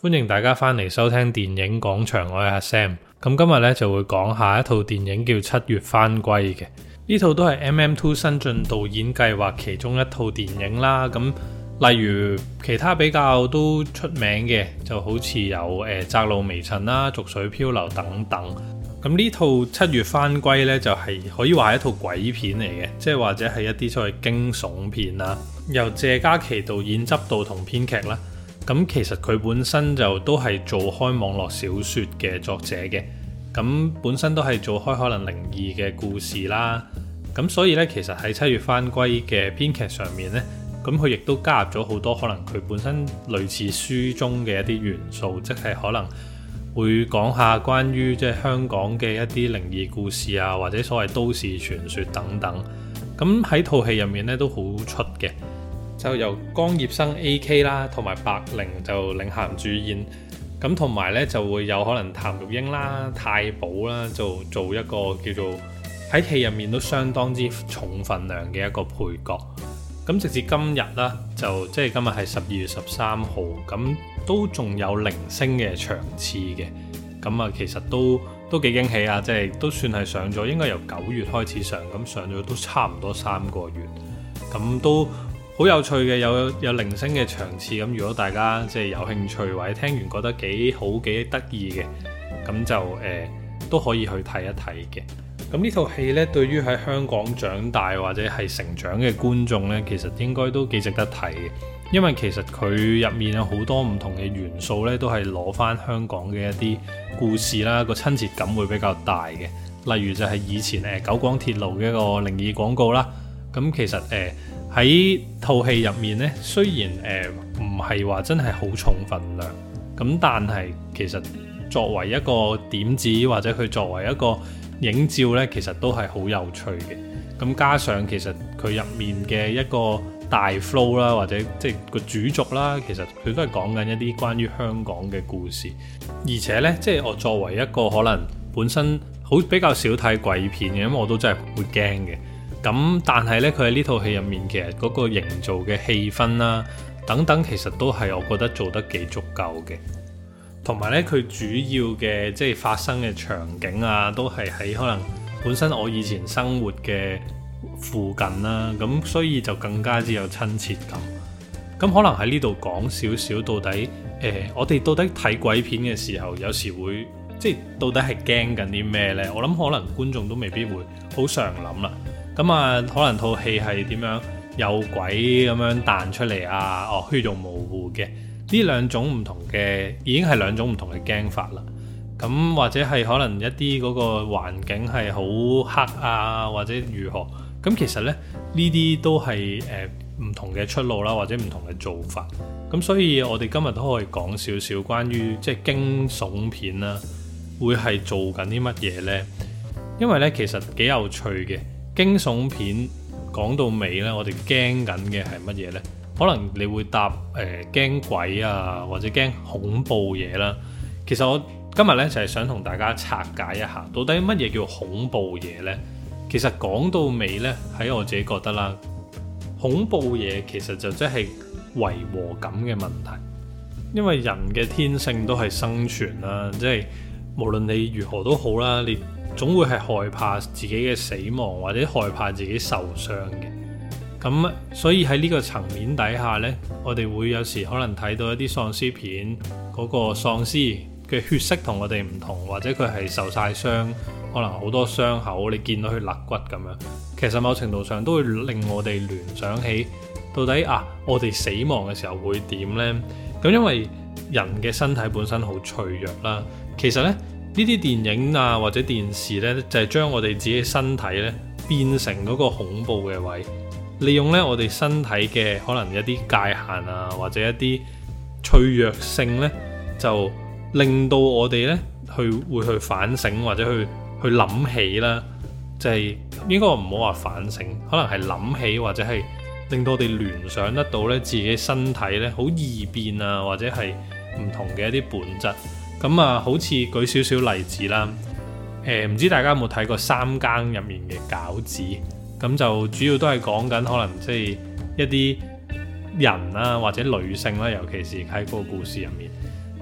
歡迎大家翻嚟收聽電影廣場，我係阿 Sam。咁今日咧就會講下一套電影叫《七月返歸》嘅。呢套都係 MM2 新晉導演計劃其中一套電影啦。咁例如其他比較都出名嘅，就好似有窄路微塵啦、濁水漂流等等。咁呢套《七月返歸》呢，就係可以話係一套鬼片嚟嘅，即係或者係一啲所謂驚悚片啦。由謝嘉琪導演執導同編劇啦。咁其實佢本身就都係做開網絡小說嘅作者嘅，咁本身都係做開可能靈異嘅故事啦。咁所以呢，其實喺《七月返歸》嘅編劇上面呢，咁佢亦都加入咗好多可能佢本身類似書中嘅一啲元素，即係可能會講下關於即係香港嘅一啲靈異故事啊，或者所謂都市傳說等等。咁喺套戲入面呢，都好出嘅。就由江業生 AK 啦，同埋白靈就領銜主演，咁同埋咧就會有可能譚玉英啦、太保啦，就做一個叫做喺戲入面都相當之重分量嘅一個配角。咁直至今日啦，就即係今日係12月13號，咁都仲有零星嘅場次嘅。咁啊，其實都幾驚喜啊！即係都算係上咗，應該由9月開始上，咁上咗都差唔多3個月，咁都好有趣嘅，有零星嘅場次。咁如果大家即係有興趣或者聽完覺得幾好幾得意嘅，咁就都可以去睇一睇嘅。咁呢套戲呢，對於喺香港長大或者係成長嘅觀眾呢，其實應該都幾值得睇嘅，因為其實佢入面有好多唔同嘅元素呢，都係攞翻香港嘅一啲故事啦，個親切感會比較大嘅。例如就係以前九廣鐵路嘅一個靈異廣告啦。咁其實喺套戲入面呢，雖然唔係話真係好重分量，咁但係其實作為一個點子或者佢作為一個影照呢，其實都係好有趣嘅。咁加上其實佢入面嘅一個大 flow 啦，或者即係個主軸啦，其實佢都係講緊一啲關於香港嘅故事。而且呢，即係我作為一個可能本身比較少睇鬼片嘅，因為我都真係會驚嘅。咁但係呢，佢喺呢套戲入面其實嗰個營造嘅氣氛啦等等，其實都係我覺得做得幾足夠嘅。同埋呢，佢主要嘅即係發生嘅場景啊，都係喺可能本身我以前生活嘅附近啦，咁所以就更加之有親切感。咁可能喺呢度講少少，到底我哋到底睇鬼片嘅時候，有時會即係到底係驚緊啲咩呢？我諗可能觀眾都未必會好常諗啦。咁啊，可能套戲係點樣有鬼咁樣彈出嚟啊？血肉模糊嘅呢兩種唔同嘅，已經係兩種唔同嘅驚法啦。咁或者係可能一啲嗰個環境係好黑啊，或者如何？咁其實呢啲都係唔同嘅出路啦，或者唔同嘅做法。咁所以我哋今日都可以講少少關於即係驚悚片啦，會係做緊啲乜嘢呢？因為呢其實幾有趣嘅。驚悚片講到尾呢，我哋驚緊嘅係乜嘢呢？可能你會答驚鬼啊，或者驚恐怖嘢啦。其實我今日呢，就係想同大家拆解一下，到底乜嘢叫恐怖嘢呢？其實講到尾呢，喺我自己覺得啦，恐怖嘢其實就即係違和感嘅問題。因為人嘅天性都係生存啦，即係無論你如何都好啦，你總會係害怕自己嘅死亡，或者害怕自己受傷嘅。咁所以喺呢個層面底下呢，我哋會有時可能睇到一啲喪屍片，嗰個喪屍嘅血色同我哋唔同，或者佢係受晒傷，可能好多傷口，你見到佢肋骨咁樣。其實某程度上都會令我哋聯想起到底我哋死亡嘅時候會點呢？咁因為人嘅身體本身好脆弱啦，其實呢啲電影啊或者電視呢，就係將我哋自己身體呢變成嗰個恐怖嘅位，利用呢我哋身體嘅可能一啲界限啊，或者一啲脆弱性呢，就令到我哋呢會去反省，或者去諗起啦，就係應該唔好話反省，可能係諗起，或者係令到我哋聯想得到呢自己身體呢好易變啊，或者係唔同嘅一啲本質。咁好似舉少少例子啦，唔知大家有冇睇過三更入面嘅餃子？咁就主要都係講緊可能即係一啲人啦，或者女性啦，尤其是喺嗰個故事入面，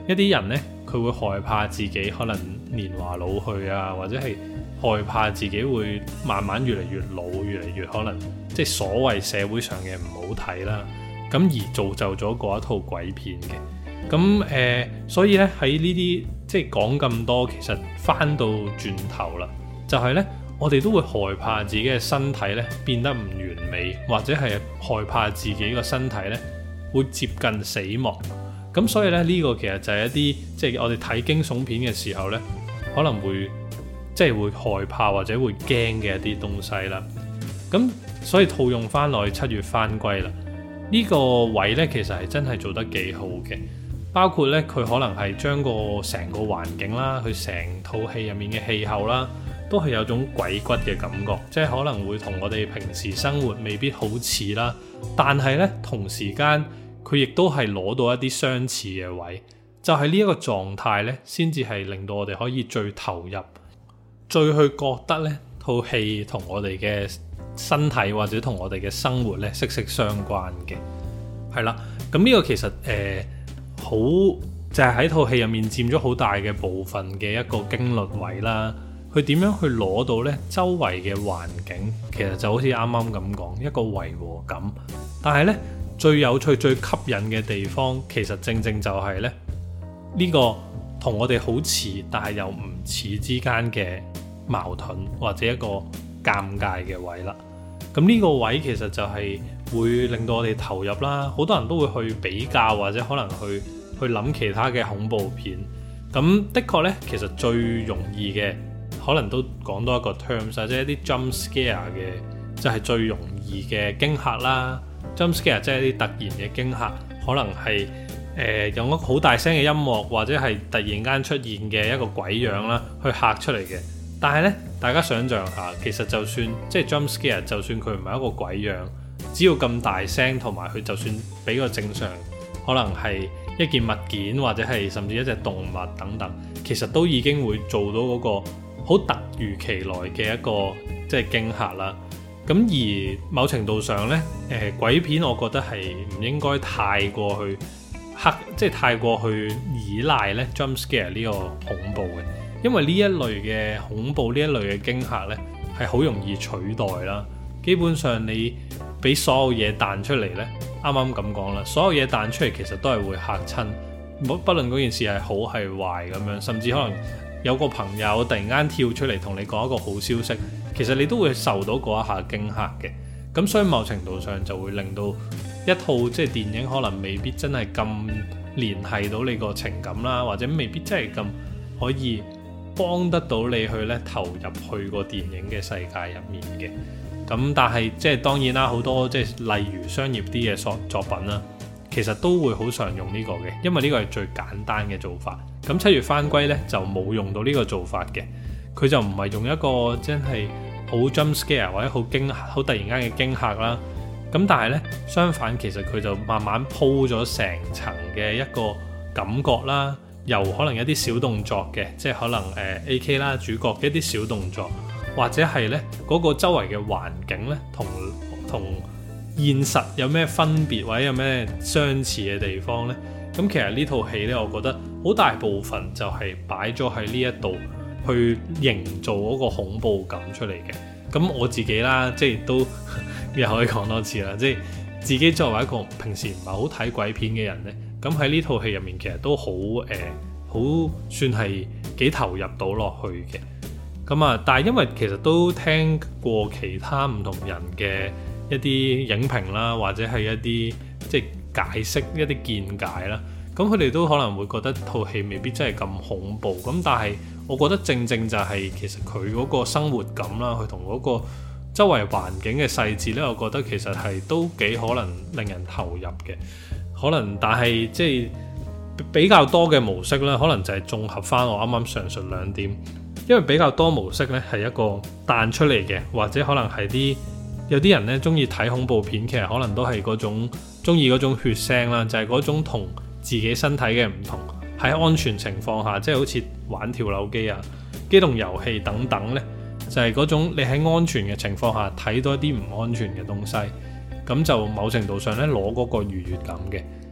一啲人呢，佢會害怕自己可能年華老去啊，或者係害怕自己會慢慢越嚟越老，越嚟越可能即係所謂社會上嘅唔好睇啦，咁而造就咗嗰一套鬼片嘅。咁所以咧喺呢啲即係講咁多，其實翻到轉頭啦，就係咧我哋都會害怕自己嘅身體咧變得唔完美，或者係害怕自己個身體咧會接近死亡。咁所以咧呢個其實就係一啲即係我哋睇驚悚片嘅時候咧，可能會即係會害怕或者會驚嘅一啲東西啦。咁所以套用翻落去七月返歸啦，呢個位咧其實係真係做得幾好嘅。包括咧，佢可能係將個成個環境啦，佢成套戲入面嘅氣候啦，都係有種鬼骨嘅感覺，即係可能會同我哋平時生活未必好似啦，但係咧同時間佢亦都係攞到一啲相似嘅位，就係呢一個狀態咧，先至係令到我哋可以最投入，最去覺得咧套戲同我哋嘅身體或者同我哋嘅生活咧息息相關嘅。係啦，咁呢個其實好就係喺套戲入面佔咗好大嘅部分嘅一個驚慄位啦。佢點樣去攞到呢周圍嘅環境，其實就好似啱啱咁講一個違和感。但係呢，最有趣最吸引嘅地方，其實正正就係呢呢個同我哋好似但係又唔似之間嘅矛盾，或者一個尷尬嘅位啦。咁呢個位其實就係會令到我哋投入啦，好多人都會去比較或者可能去諗其他嘅恐怖片。咁的確呢，其實最容易嘅可能都講多一個 terms， 即係一啲 jump scare 嘅，就係最容易嘅驚嚇啦。jump scare 即係一啲突然嘅驚嚇，可能係用一個好大聲嘅音樂，或者係突然間出現嘅一個鬼樣啦，去嚇出嚟嘅。但係呢，大家想象下，其實就算即係 jump scare， 就算佢唔係一個鬼樣，只要咁大聲，同埋佢就算俾個正常，可能係一件物件或者係甚至一隻動物等等，其實都已經會做到嗰個好突如其來嘅一個即係驚嚇啦。咁而某程度上呢，鬼片我覺得係唔應該太過去即係太過去依賴呢 jump scare 呢個恐怖嘅。因為呢一類嘅恐怖，呢一類嘅驚嚇呢，係好容易取代啦。基本上你俾所有嘢彈出嚟呢，啱啱咁講啦，所有嘢彈出嚟其實都係會嚇親，不論嗰件事係好係壞咁樣，甚至可能有個朋友突然間跳出嚟同你講一個好消息，其實你都會受到嗰一下驚嚇嘅。咁所以某程度上就會令到一套即係電影可能未必真係咁聯繫到你個情感啦，或者未必真係咁可以幫得到你去咧投入去個電影嘅世界入面嘅。咁但係即係當然啦，好多即係例如商業啲嘅作品啦，其實都會好常用呢個嘅，因為呢個係最簡單嘅做法。咁七月返歸呢，就冇用到呢個做法嘅，佢就唔係用一個真係好 jump scare 或者好突然間嘅驚嚇啦。咁但係呢，相反其實佢就慢慢鋪咗成層嘅一個感覺啦。由可能一啲小動作嘅，即係可能AK 啦主角嘅一啲小動作，或者係呢嗰個周圍嘅環境呢，同現實有咩分別，或者有咩相似嘅地方呢？咁其實呢套戲呢，我覺得好大部分就係擺咗喺呢一度去營造嗰個恐怖感出嚟嘅。咁我自己啦，即係都又可以講多次啦，即係自己作為一個平時唔係好睇鬼片嘅人呢。咁喺呢套戲入面其實都好算係幾投入到落去嘅。咁啊，但係因為其實都聽過其他唔同人嘅一啲影評啦，或者係一啲即係解釋一啲見解啦，咁佢哋都可能會覺得套戲未必真係咁恐怖。咁但係我覺得正正就係其實佢嗰個生活感啦，佢同嗰個周圍環境嘅細節呢，我覺得其實係都幾可能令人投入嘅。可能，但係即係比較多嘅模式咧，可能就係綜合翻我啱啱上述兩點，因為比較多模式咧係一個彈出嚟嘅，或者可能係有啲人咧中意睇恐怖片，其實可能都係嗰種中意嗰種血腥啦，就係嗰種同自己身體嘅唔同，喺安全情況下，即係好似玩跳樓機啊、機動遊戲等等咧，就係嗰種你喺安全嘅情況下睇到一啲唔安全嘅東西。咁就某程度上咧攞嗰個愉悅感嘅。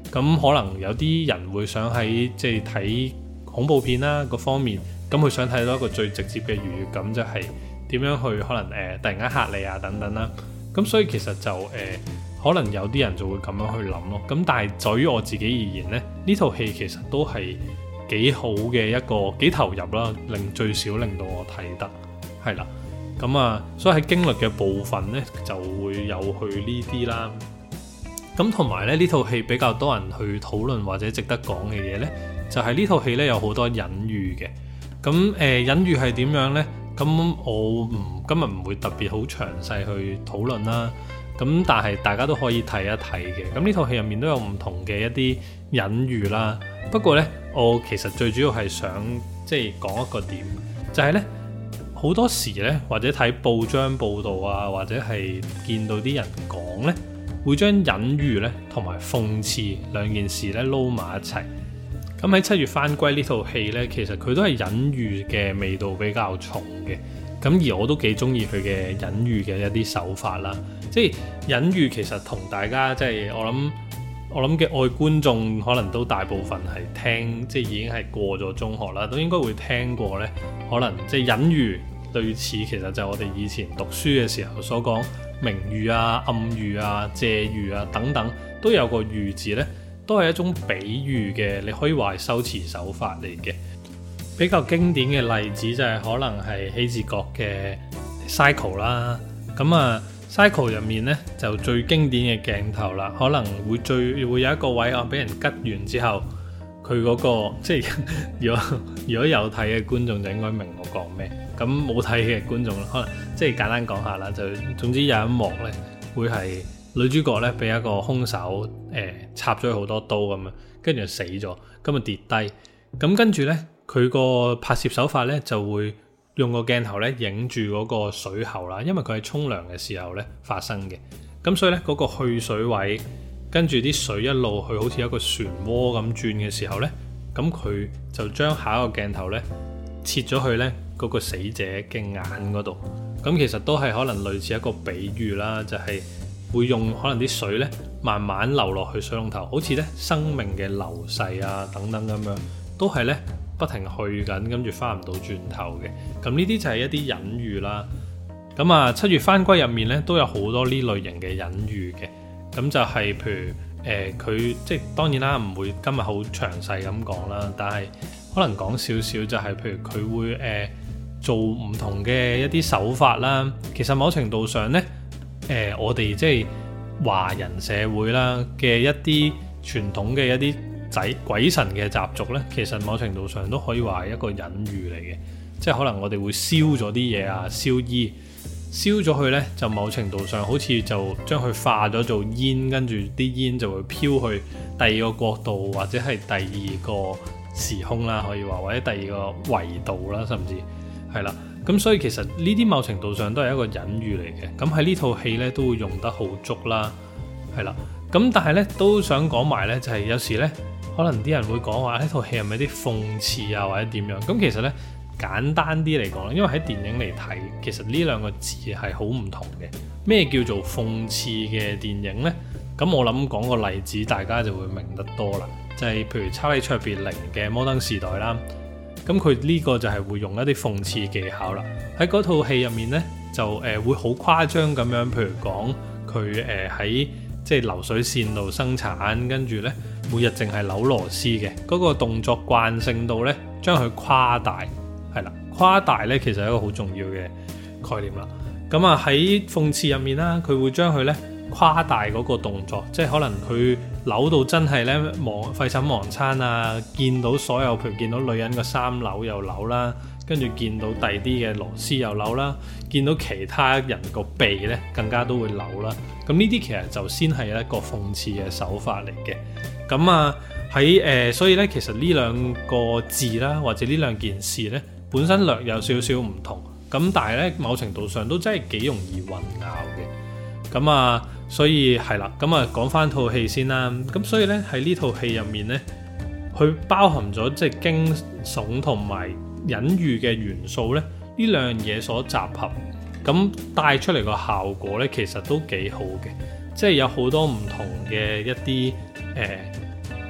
咁可能有啲人會想喺即係睇恐怖片啦嗰方面，咁佢想睇到一個最直接嘅愉悅感，就係點樣去可能突然間嚇你啊等等啦。咁所以其實就可能有啲人就會咁樣去諗咯。咁但係在於我自己而言呢，呢套戲其實都係幾好嘅一個幾投入啦，最少令到我睇得係啦。咁啊，所以喺經歷嘅部分呢，就會有去呢啲啦。咁同埋咧，呢套戲比較多人去討論或者值得講嘅嘢呢，就係呢套戲呢有好多隱喻嘅。咁隱喻係點樣呢？咁我今日唔會特別好詳細去討論啦。咁但係大家都可以睇一睇嘅。咁呢套戲入面都有唔同嘅一啲隱喻啦。不過呢，我其實最主要係想即係講一個點，就係呢，好多時呢，或者睇報章報道啊，或者係見到啲人講呢，會將隱喻呢同埋諷刺兩件事呢撈埋一齊。咁喺7月返歸呢套戲呢，其實佢都係隱喻嘅味道比較重嘅。咁而我都幾中意佢嘅隱喻嘅一啲手法啦。即係隱喻其實同大家即係我諗嘅愛觀眾可能都大部分係聽，即係已經係過咗中學啦，都應該會聽過呢。可能即係隱喻類似，其實就係我哋以前讀書嘅時候所講明喻啊、暗喻啊、借喻啊等等，都有個喻字呢，都係一種比喻嘅，你可以話係修辭手法嚟嘅。比較經典嘅例子就係可能係希治閣嘅 Cycle 啦。咁啊 Cycle 入面呢，就最經典嘅鏡頭啦，可能會有一個位啊，俾人吉完之後，佢嗰個即係如果有睇嘅觀眾就應該明我講咩。咁冇睇嘅觀眾可能即係簡單講下啦，就總之有一幕呢，會係女主角呢俾一個兇手插咗好多刀咁樣，跟住就死咗，咁啊跌低，咁跟住呢，佢個拍攝手法呢，就會用個鏡頭呢影住嗰個水喉啦，因為佢係沖涼嘅時候呢發生嘅，咁所以呢，嗰個去水位跟住啲水一路去好似一個漩渦咁轉嘅時候呢，咁佢就將下一個鏡頭呢切咗去呢嗰個死者嘅眼嗰度，咁其實都係可能類似一個比喻啦，就係會用可能啲水呢慢慢流落去水龍頭，好似呢生命嘅流逝啊等等咁樣，都係呢不停去緊，跟住翻唔到轉頭嘅。咁呢啲就係一啲隱喻啦。咁啊7月返歸入面呢，都有好多呢類型嘅隱喻嘅。咁就係譬如佢即係當然啦，唔會今日好詳細咁講啦，但係可能講少少就係譬如佢會做唔同嘅一啲手法啦。其實某程度上呢，我哋即係華人社會啦嘅一啲傳統嘅一啲鬼神嘅習俗呢，其實某程度上都可以話係一個隱喻嚟嘅。即係可能我哋會燒咗啲嘢啊，燒衣，燒咗佢呢，就某程度上好似就將佢化咗做煙，跟住啲煙就會飄去第二個國度或者係第二個時空啦，可以話或者第二個維度啦，甚至係啦。咁所以其實呢啲某程度上都係一個隱喻嚟嘅。咁喺呢套戲呢，都會用得好足啦，係啦。咁但係呢，都想講埋呢，就係有時呢，可能啲人會講話呢套戲係咪啲諷刺啊或者點樣？咁其實呢，簡單啲嚟講，因為喺電影嚟睇，其實呢兩個字係好唔同嘅。咩叫做諷刺嘅電影呢？咁我諗講個例子，大家就會明得多啦。就係譬如查理卓別靈嘅《摩登時代》啦，咁佢呢個就係會用一啲諷刺技巧啦。喺嗰套戲入面呢，就會好誇張咁樣，譬如講佢喺即係流水線度生產，跟住呢每日淨係扭螺絲嘅嗰個動作慣性度呢，將佢誇大，係啦，誇大呢其實係一個好重要嘅概念啦。咁啊喺諷刺入面啦，佢會將佢呢誇大嗰個動作，即係可能佢扭到真係呢廢寢忘餐啊，見到所有譬如見到女人個衫扭又扭啦，跟住見到第啲嘅螺絲又扭啦，見到其他人個鼻呢更加都會扭啦。咁呢啲其實就先係一個諷刺嘅手法嚟嘅。咁啊喺所以呢，其實呢兩個字啦，或者呢兩件事呢，本身略有少少唔同。咁但係呢，某程度上都真係幾容易混淆嘅。咁啊，所以係啦。咁啊，講翻套戲先啦。咁所以呢，喺呢套戲入面呢，佢包含咗即係驚悚同埋隱喻嘅元素呢，呢兩樣嘢所集合，咁帶出嚟個效果呢，其實都幾好嘅。即係有好多唔同嘅一啲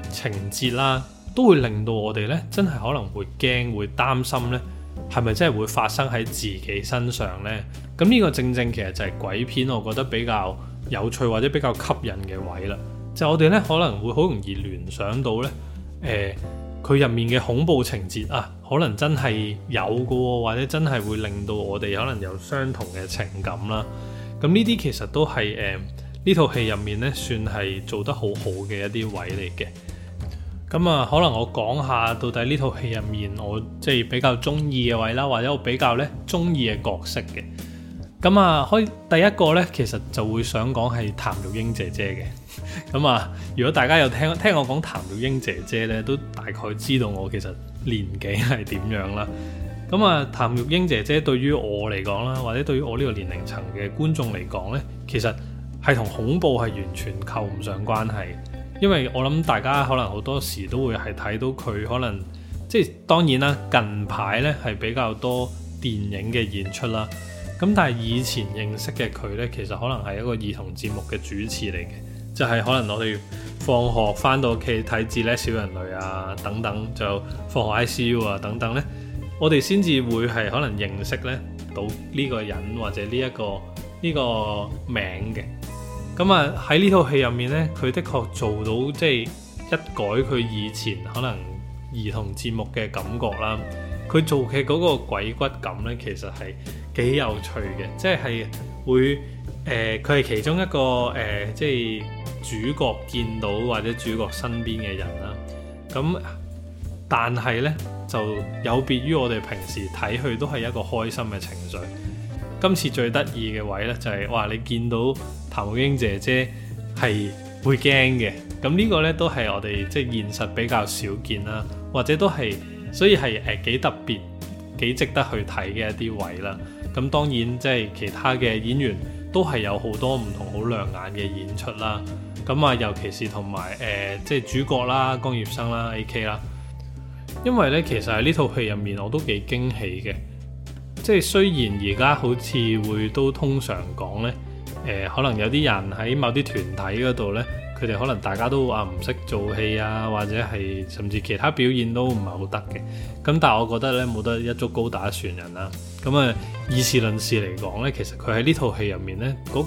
情節啦，都會令到我哋呢真係可能會驚會擔心呢係咪真係會發生喺自己身上呢？咁呢個正正其實就係鬼片我覺得比較有趣或者比較吸引嘅位啦。就我哋呢可能會好容易聯想到呢，佢入面嘅恐怖情節啊，可能真係有嘅喎，或者真係會令到我哋可能有相同嘅情感啦。咁呢啲其實都係呢套戲入面呢算係做得好好嘅一啲位嚟嘅。咁啊，可能我講下到底呢套戲入面我即係比較中意嘅位啦，或者我比較呢中意嘅角色嘅。咁啊，可以第一個呢，其實就會想講係譚玉英姐姐嘅。咁啊，如果大家有聽我講譚玉英姐姐呢，都大概知道我其實年紀係點樣啦。咁啊，譚玉英姐姐對於我嚟講啦，或者對於我呢個年齡層嘅觀眾嚟講呢，其實係同恐怖係完全扣唔上關係。因為我諗大家可能好多時都會係睇到佢可能即係當然啦，近排呢係比較多電影嘅演出啦。咁但係以前認識嘅佢呢，其實可能係一個兒童節目嘅主持嚟嘅，就係可能我哋放學翻到屋企睇《至叻小人類》啊等等，就放學 ICU 啊等等呢，我哋先至會係可能認識呢到呢個人或者呢個名嘅。咁啊喺呢套戲入面呢，佢的確做到即係一改佢以前可能兒童節目嘅感覺啦。佢做嘅嗰個鬼骨感呢，其實係幾有趣嘅，即係會佢係其中一個即係主角見到或者主角身邊嘅人啦。咁但係呢，就有別於我哋平時睇佢都係一個開心嘅情緒。今次最得意嘅位呢，就係哇！你見到譚玉英姐姐係會驚嘅，咁呢個呢，都係我哋即係現實比較少見啦，或者都係所以係幾特別、幾值得去睇嘅一啲位啦。咁當然即係其他嘅演員都係有好多唔同好亮眼嘅演出啦。咁啊，尤其是同埋即係主角啦、江業生啦、AK 啦，因為呢，其實喺呢套戲入面我都幾驚喜嘅。即係雖然而家好似會都通常講呢，可能有啲人喺某啲團體嗰度呢，佢哋可能大家都話唔識做戲啊，或者係甚至其他表現都唔係好得嘅。咁但係我覺得呢，冇得一竹篙打一船人啦。咁啊，以事論事嚟講呢，其實佢喺呢套戲入面呢，嗰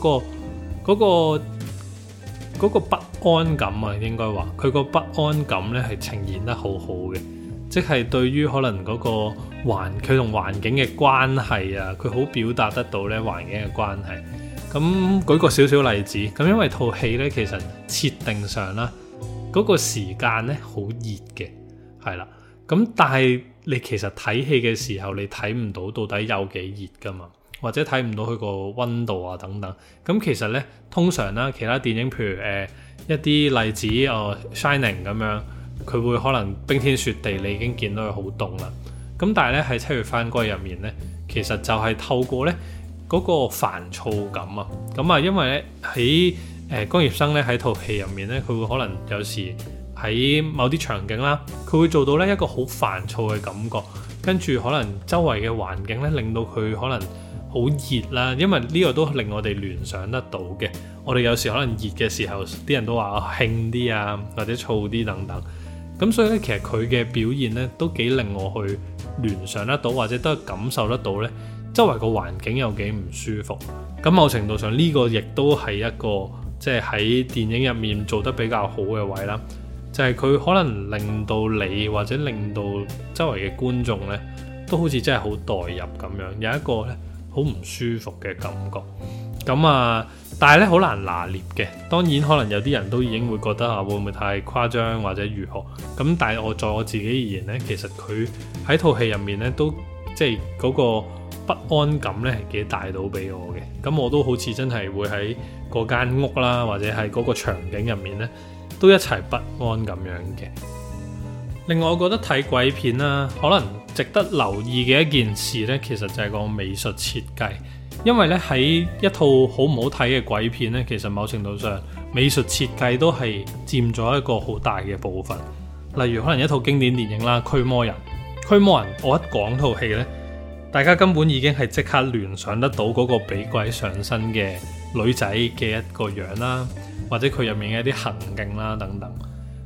個不安感啊，應該話佢個不安感呢係呈現得好好嘅。即係對於可能嗰個佢同環境嘅關係啊，佢好表達得到咧環境嘅關係。咁舉個少少例子，咁因為套戲咧其實設定上啦，嗰個時間咧好熱嘅，係啦。咁但係你其實睇戲嘅時候，你睇唔到到底有幾熱㗎嘛，或者睇唔到佢個溫度啊等等。咁其實咧通常啦，其他電影譬如一啲例子Shining 咁樣。佢會可能冰天雪地，你已經見到佢好凍啦。咁但係咧喺七月返歸入面咧，其實就係透過咧嗰個煩躁感啊。咁啊，因為咧喺江業生咧喺套戲入面咧，佢會可能有時喺某啲場景啦，佢會做到咧一個好煩躁嘅感覺，跟住可能周圍嘅環境咧令到佢可能好熱啦。因為呢個都令我哋聯想得到嘅。我哋有時可能熱嘅時候，啲人都話興啲啊，或者燥啲等等。咁所以咧，其實佢嘅表現咧都幾令我去聯想得到，或者都感受得到咧，周圍個環境有幾唔舒服。咁某程度上呢個亦都係一個即係喺電影入面做得比較好嘅位啦。就係佢可能令到你或者令到周圍嘅觀眾咧，都好似真係好代入咁樣，有一個咧好唔舒服嘅感覺。咁啊，但係咧好難拿捏嘅。當然可能有啲人都已經會覺得啊，會唔會太誇張或者如何？咁但係在我自己而言咧，其實佢喺套戲入面咧都即係嗰個不安感咧係幾帶到俾我嘅。咁我都好似真係會喺嗰間屋啦，或者係嗰個場景入面咧都一齊不安咁樣嘅。另外我覺得睇鬼片啦，可能值得留意嘅一件事咧，其實就係個美術設計。因為咧喺一套好唔好睇嘅鬼片咧，其實某程度上美術設計都係佔咗一個好大嘅部分。例如可能一套經典電影啦，《驅魔人》。《驅魔人》我一講套戲咧，大家根本已經係即刻聯想得到嗰個俾鬼上身嘅女仔嘅一個樣啦，或者佢入面嘅一啲行徑啦等等。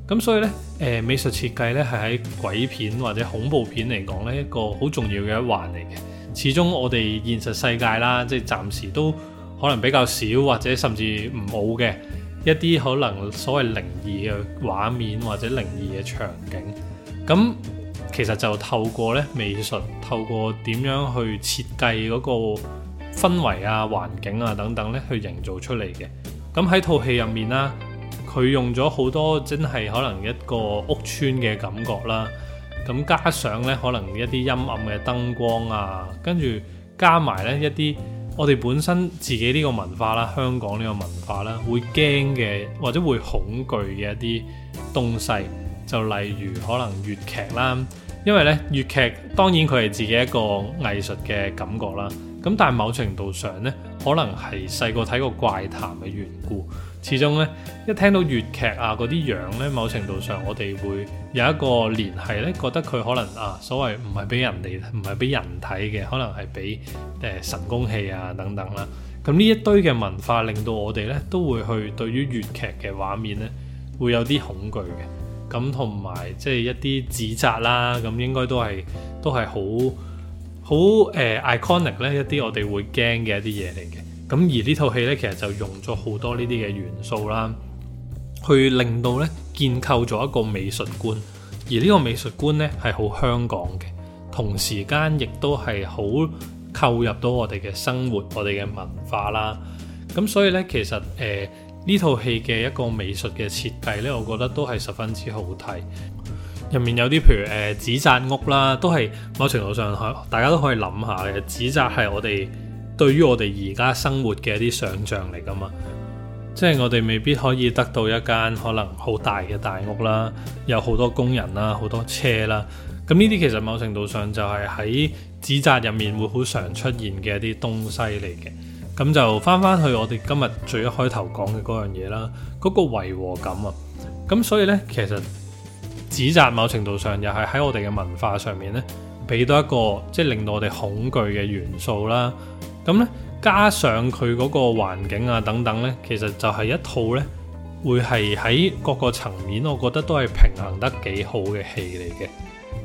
咁所以呢，美術設計呢係喺鬼片或者恐怖片嚟講呢一個好重要嘅一環嚟嘅。始終我哋現實世界啦，即係暫時都可能比較少或者甚至唔冇嘅一啲可能所謂靈異嘅畫面或者靈異嘅場景。咁其實就透過呢美術，透過點樣去設計嗰個氛圍啊、環境啊等等呢去營造出嚟嘅。咁喺套戲入面啦，佢用咗好多真係可能一個屋邨嘅感覺啦，咁加上呢可能一啲陰暗嘅燈光啊，跟住加埋呢一啲我哋本身自己呢個文化啦，香港呢個文化啦，會驚嘅或者會恐懼嘅一啲東西，就例如可能粵劇啦，因為呢粵劇當然佢係自己一個藝術嘅感覺啦，咁但係某程度上呢，可能係細個睇過怪談嘅緣故。始終咧，一聽到粵劇啊嗰啲樣咧，某程度上我哋會有一個聯繫咧，覺得佢可能所謂唔係俾人哋，唔係俾人睇嘅，可能係俾神功戲啊等等啦。咁呢一堆嘅文化令到我哋咧都會去對於粵劇嘅畫面咧會有啲恐懼嘅。咁同埋即係一啲指責啦，咁應該都係好iconic 咧，一啲我哋會驚嘅一啲嘢嚟嘅。咁而呢套戲咧，其實就用咗好多呢啲嘅元素啦，去令到咧建構咗一個美術觀。而呢個美術觀咧係好香港嘅，同時間亦都係好扣入到我哋嘅生活、我哋嘅文化啦。咁所以咧，其實呢套戲嘅一個美術嘅設計咧，我覺得都係十分之好睇。入面有啲譬如紙紮屋啦，都係某程度上大家都可以諗下嘅。紙紮係我哋對於我哋而家生活嘅一啲想像嚟㗎嘛，即係我哋未必可以得到一間可能好大嘅大屋啦，有好多工人啦，好多車啦。咁呢啲其實某程度上就係喺紙紮入面會好常出現嘅一啲東西嚟嘅。咁就翻去我哋今日最一開頭講嘅嗰樣嘢啦，嗰個違和感啊。咁所以呢，其實紙紮某程度上又係喺我哋嘅文化上面呢，俾到一個即係令到我哋恐懼嘅元素啦。咁咧，加上佢嗰個環境啊等等咧，其實就係一套咧，會係喺各個層面，我覺得都係平衡得幾好嘅戲嚟嘅。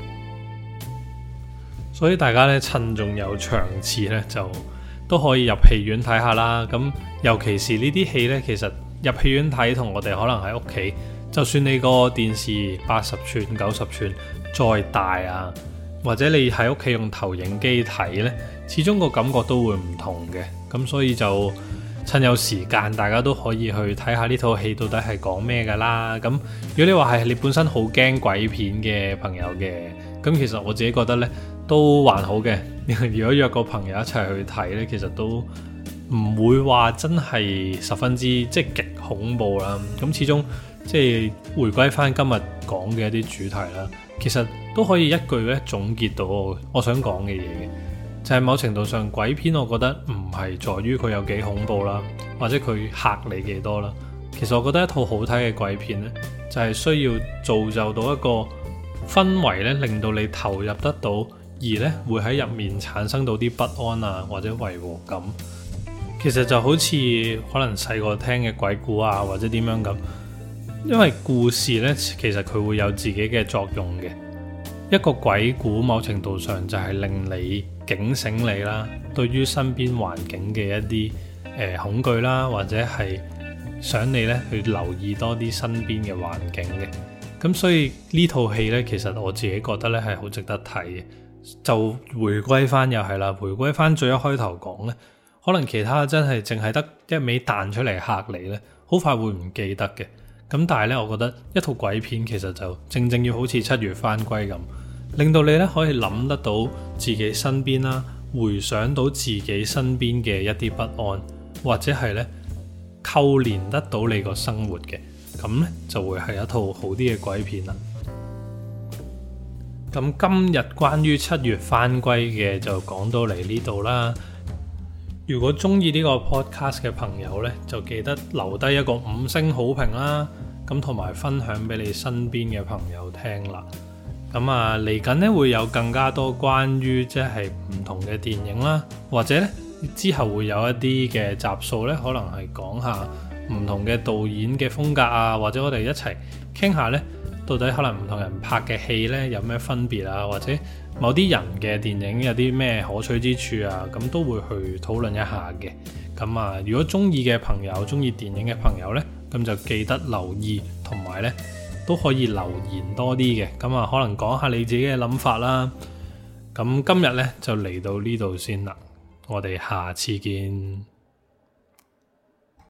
所以大家咧趁仲有場次咧，就都可以入戲院睇下啦。咁尤其是呢啲戲咧，其實入戲院睇同我哋可能喺屋企，就算你個電視80寸、90寸再大啊，或者你喺屋企用投影機睇咧，始終個感覺都會唔同嘅。咁所以就趁有時間，大家都可以去睇下呢套戲到底係講咩噶啦。咁如果你話係你本身好驚鬼片嘅朋友嘅，咁其實我自己覺得呢都還好嘅。如果約個朋友一齊去睇呢，其實都唔會話真係十分之即係極恐怖啦。咁始終即係回歸翻今日講嘅一啲主題啦，其實都可以一句咧總結到我想講嘅嘢嘅，就係某程度上鬼片我覺得唔係在於佢有幾恐怖啦，或者佢嚇你幾多啦。其實我覺得一套好睇嘅鬼片呢，就係需要造就到一個氛圍咧，令到你投入得到，而呢會喺入面產生到啲不安啊或者違和感。其實就好似可能細個聽嘅鬼故啊，或者點樣咁，因為故事呢，其實佢會有自己嘅作用嘅。一個鬼故某程度上就係令你警醒你啦，對於身邊環境嘅一啲恐懼啦，或者係想你呢去留意多啲身邊嘅環境嘅。咁所以呢套戲呢，其實我自己覺得呢係好值得睇嘅。就回歸翻又係啦，回歸翻最一開頭講呢，可能其他真係淨係得一味彈出嚟嚇你呢，好快會唔記得嘅。咁但係呢，我覺得一套鬼片其實就正正要好似7月返歸咁，令到你呢可以諗得到自己身邊啦，回想到自己身邊嘅一啲不安，或者係呢扣連得到你個生活嘅，咁呢就會係一套好啲嘅鬼片啦。咁今日關於7月返歸嘅就講到嚟呢度啦。如果中意呢個 podcast 嘅朋友呢，就記得留低一個5星好評啦，咁同埋分享俾你身邊嘅朋友聽啦。咁嚟緊呢會有更加多關於即係唔同嘅電影啦，或者呢之後會有一啲嘅集數呢，可能係講下唔同嘅導演嘅風格啊，或者我哋一齊傾下呢，到底可能唔同人拍嘅戲呢有咩分別啊，或者某啲人嘅電影有啲咩可取之處啊，咁都會去討論一下嘅。咁啊，如果中意嘅朋友，中意電影嘅朋友呢，咁就記得留意，同埋呢都可以留言多啲嘅。咁啊，可能講下你自己嘅諗法啦。咁今日呢就嚟到呢度先啦，我哋下次見。